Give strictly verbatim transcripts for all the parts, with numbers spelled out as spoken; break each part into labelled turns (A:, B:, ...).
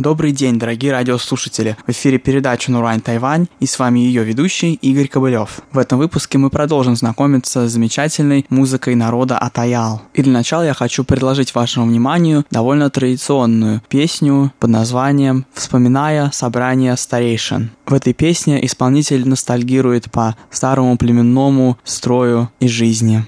A: Добрый день, дорогие радиослушатели! В эфире передача «Нурань Тайвань» и с вами ее ведущий Игорь Кобылев. В этом выпуске мы продолжим знакомиться с замечательной музыкой народа Атаял. И для начала я хочу предложить вашему вниманию довольно традиционную песню под названием «Вспоминая собрание старейшин». В этой песне исполнитель ностальгирует по старому племенному строю и жизни.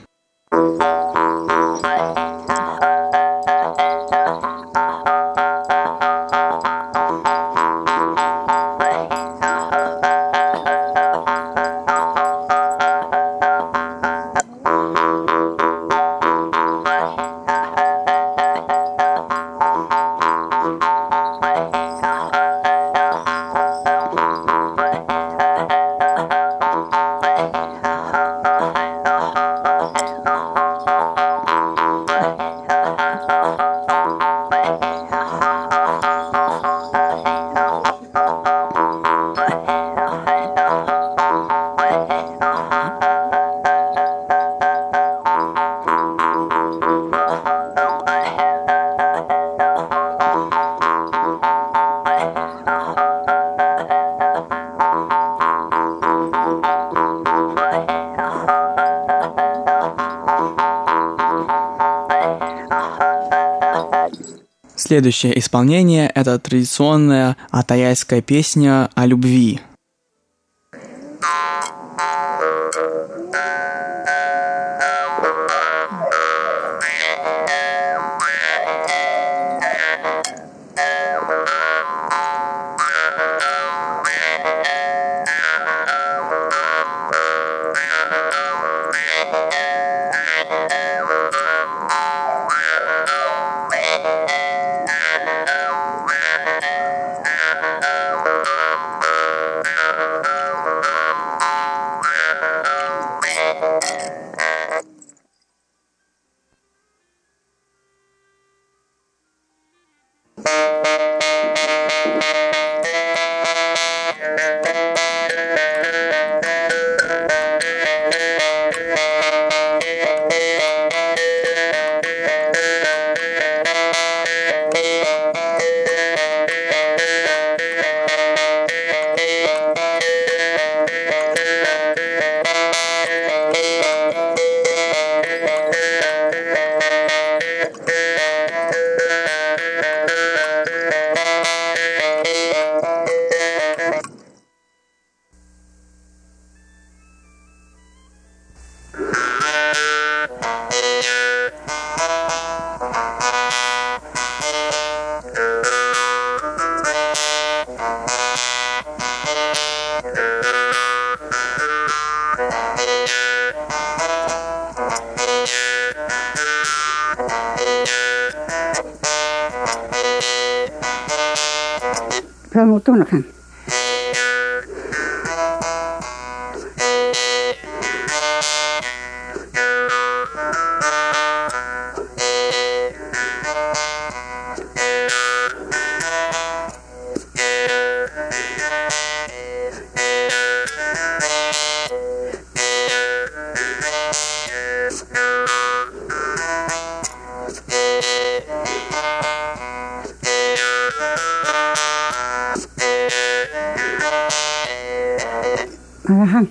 A: Следующее исполнение – это традиционная атаяйская песня о любви.
B: Прямо то на хан. Ага.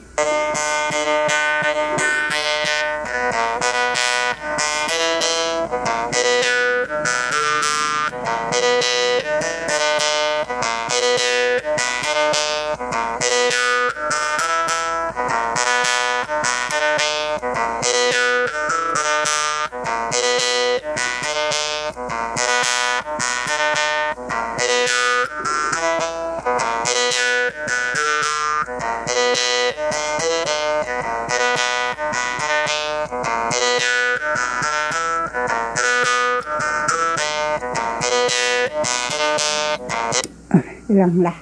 B: Lần là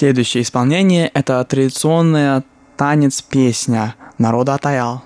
A: Следующее исполнение – это традиционная танец-песня народа Атаял.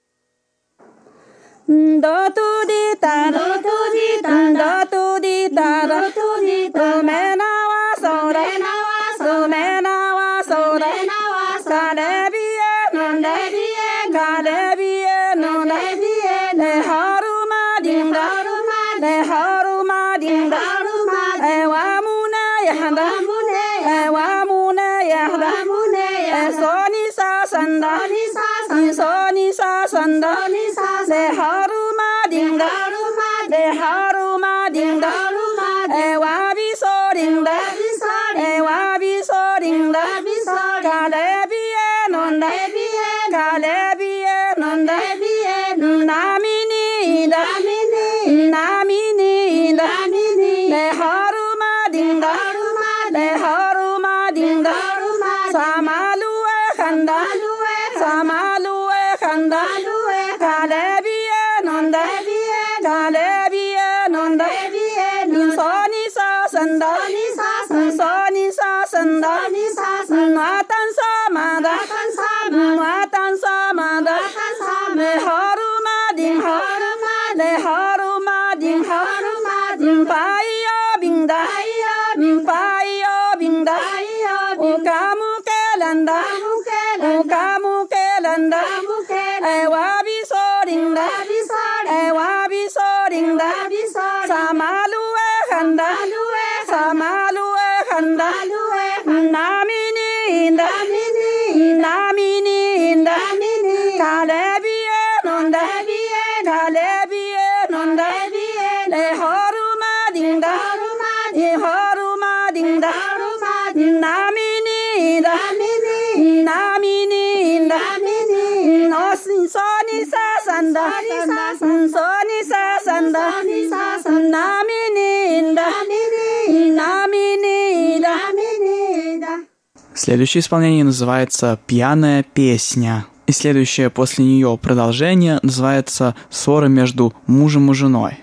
A: Следующее исполнение называется «Пьяная песня». И следующее после нее продолжение называется «Ссора между мужем и женой».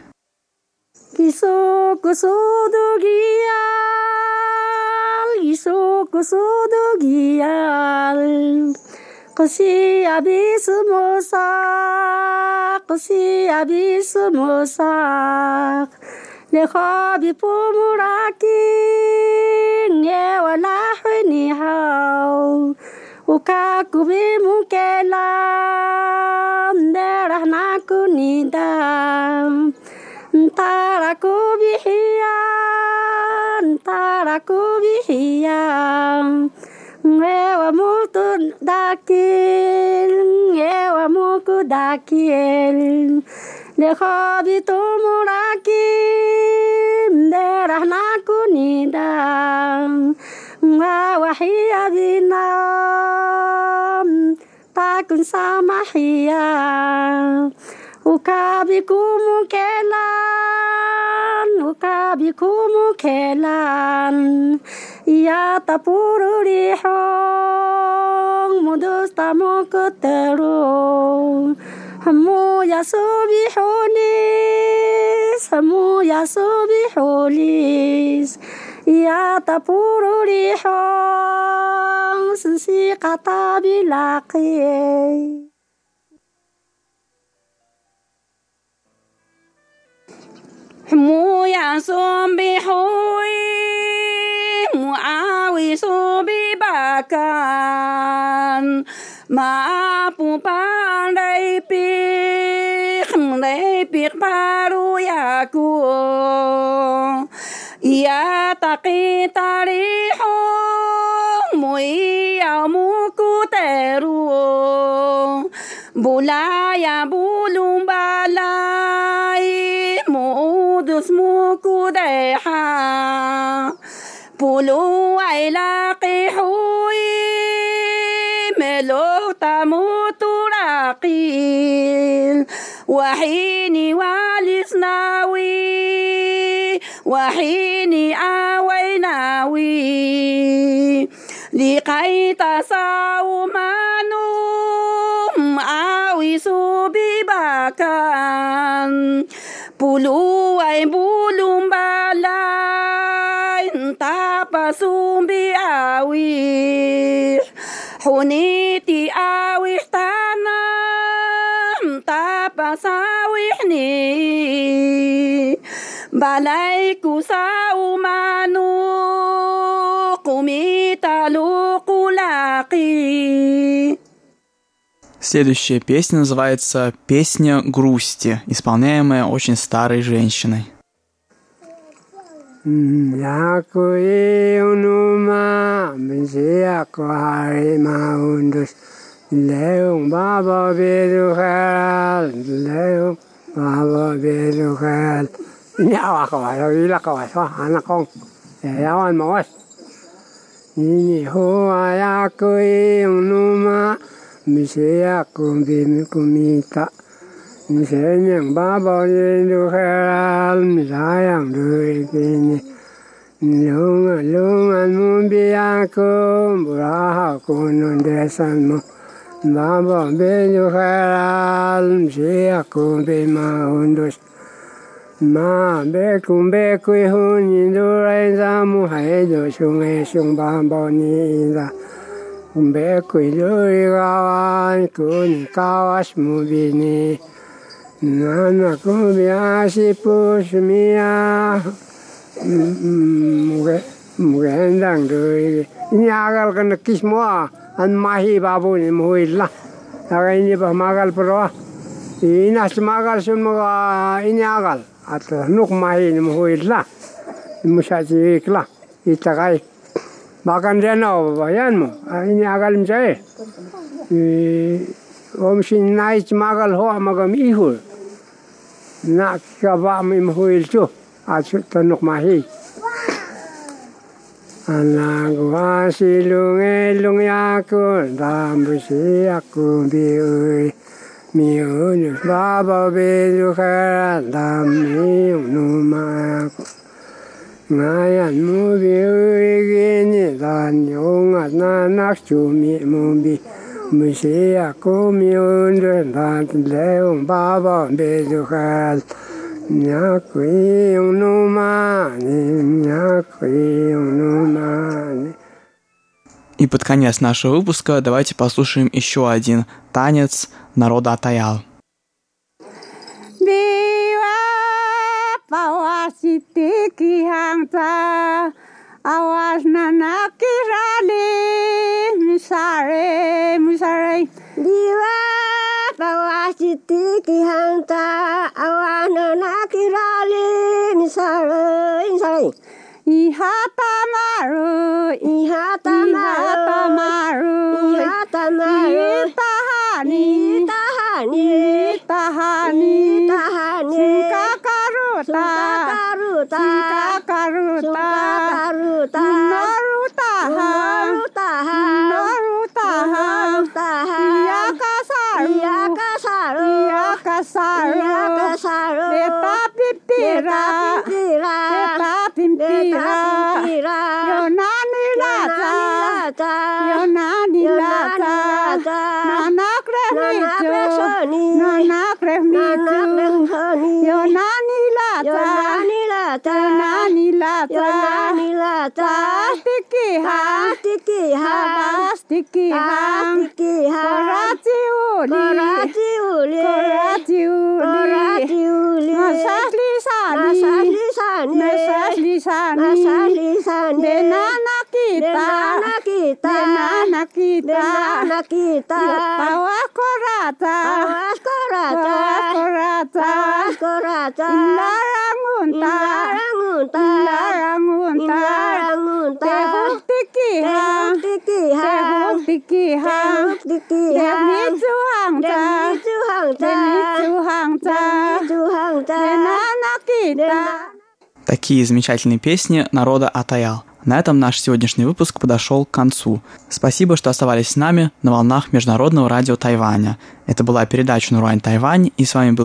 C: Leha bipumuraking wala ni hao uka kubi mukelam derah nakunida tara kubihian tara kubihian ngewa mutu dakil ngewa muku dakil Leha bitumurakim derah nakunidam Ngawahia binam takun samahia Ukabikumu kelan Ukabikumu kelan Ya tapuru rihong Mudustamu keterung Hamu yasubihulis, hamu yasubihulis, ya tapuru rihong, sensi kata bilaki. Hamu yasubihui, muawi subibakan. Maapu pandai pik, pandai pik paru yaku. Ia taki tariho, mui muku teru. Bulaya bulung balai, mudus muku deha. Pulu ay laki hui. Melo tamu turakil wahini walisnawi wahini awainawi liqai tasawmanum awi subibakan pulu ay bulum balay tapa Pasum bi awih Huniti awih tanam Tapasawih ni Balaiku sa umanu Kumitalu kulaki.
A: Следующая песня называется «Песня грусти», исполняемая очень старой женщиной.
D: Misea kumbi kumita Misenyang baba yendu heral Misayang dui kini Lungan lungan mumbi aku Buraha kunun desanmu Baba bendu heral Misea kumbi maundus Ma bekum bekui huni durai zamu Haidu sungai sung baba ni inda Bekui duri kawan kuni kawas mubini Nana kubi asipu semia Mugendang duri Ini agal kena kismua An mahi babu ni muhillah Aga ini bah magal perwa Ini asmagal semua ini agal Atau nuk mahi ni muhillah Musati iklah Itakai Makan dia no, bayanmu. Ini agal saya. Om sin naik magal hoa magam ihul. Nak kabam imhuil tu. Asyik tanuk mahi. Anak wasi lunge lunge aku, dambusi aku biui. Miun baba biu keran dami numa aku. Ngayan mubi gini dan yongat nanak cumi mubi musi aku miundur dan leung baba bedukal nyakui numani nyakui numani.
A: И под конец нашего выпуска давайте послушаем еще один танец народа Атаял.
B: Pawasiti kihangta awas nanaki rali misare misare diwa pawasiti kihangta awas nanaki rali misare misare ihata maru ihata maru ihata maru tahani tahani tahani tahani Karuta, karuta, karuta, naruta, naruta, naruta, yakasaru, yakasaru, yakasaru, yakasaru, beta pimpira, beta pimpira, yonani lata, yonani lata, nanak rehmitu, nanak rehmitu, yonani Yonani lata, Yonani lata, Yonani lata, Pastikiha, Pastikiha, Pastikiha, Pastikiha, Korati uli, Korati uli, Korati uli, Korati uli, Masasli sani, Masasli sani, Masasli sani, Masasli sani, Denana kita, Denana kita, Denana kita, Denana kita, Pawas korata, Pawas korata, Pawas korata, korata. Larangunta, larangunta, larangunta, larangunta. Tehuk tikiha, tehuk tikiha, tehuk tikiha. Demi Tuhangta, demi Tuhangta, demi Tuhangta, demi Tuhangta. Denana kita.
A: Такие замечательные песни народа Атаял. На этом наш сегодняшний выпуск подошел к концу. Спасибо, что оставались с нами на волнах Международного радио Тайваня. Это была передача «Нурань Тайвань», и с вами был